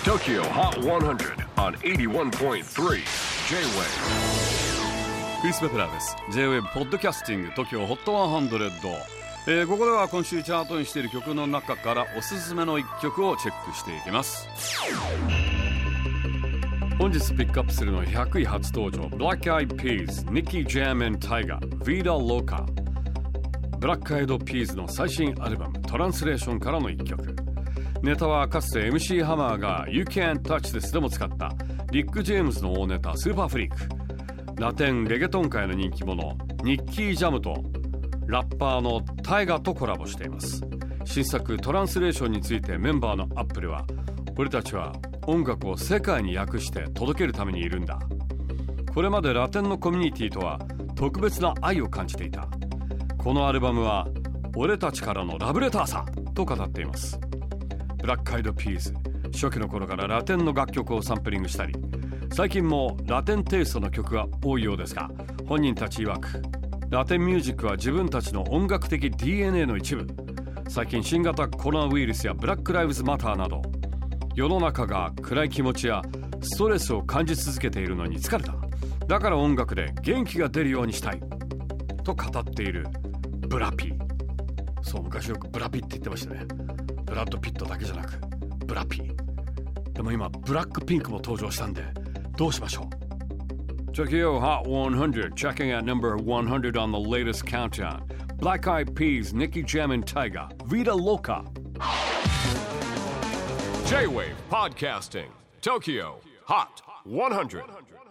TOKYO HOT 100 on 81.3 J-WAVE クリス・ベプラーです。 J-WAVE ポッドキャスティング TOKYO HOT 100、ここでは今週チャートにしている曲の中からおすすめの一曲をチェックしていきます。本日ピックアップするのは100位初登場 Black Eyed Peas Nicky Jam and Tyga Vida Loca。 ブラックアイドピーズの最新アルバムトランスレーションからの一曲。ネタはかつて MC ハマーが You Can't Touch This でも使ったリック・ジェームズの大ネタスーパーフリーク。ラテンレゲトン界の人気者ニッキー・ジャムとラッパーのタイガとコラボしています。新作トランスレーションについてメンバーのアップルは、俺たちは音楽を世界に訳して届けるためにいるんだ。これまでラテンのコミュニティとは特別な愛を感じていた。このアルバムは俺たちからのラブレターさと語っています。ブラックアイドピーズ、初期の頃からラテンの楽曲をサンプリングしたり、最近もラテンテイストの曲が多いようですが、本人たち曰くラテンミュージックは自分たちの音楽的 DNA の一部。最近新型コロナウイルスやブラックライブズマターなど世の中が暗い気持ちやストレスを感じ続けているのに疲れた。だから音楽で元気が出るようにしたいと語っているブラピ。そう、昔よくブラピって言ってましたね。ブラッドピットだけじゃなくブラピ。でも今ブラックピンクも登場したんでどうしましょう。 Tokyo Hot 100 checking at number 100 on the latest countdown. Black Eyed Peas, Nicky Jam and Tyga, Vida Loca. J-WAVE PODCASTING TOKYO HOT 100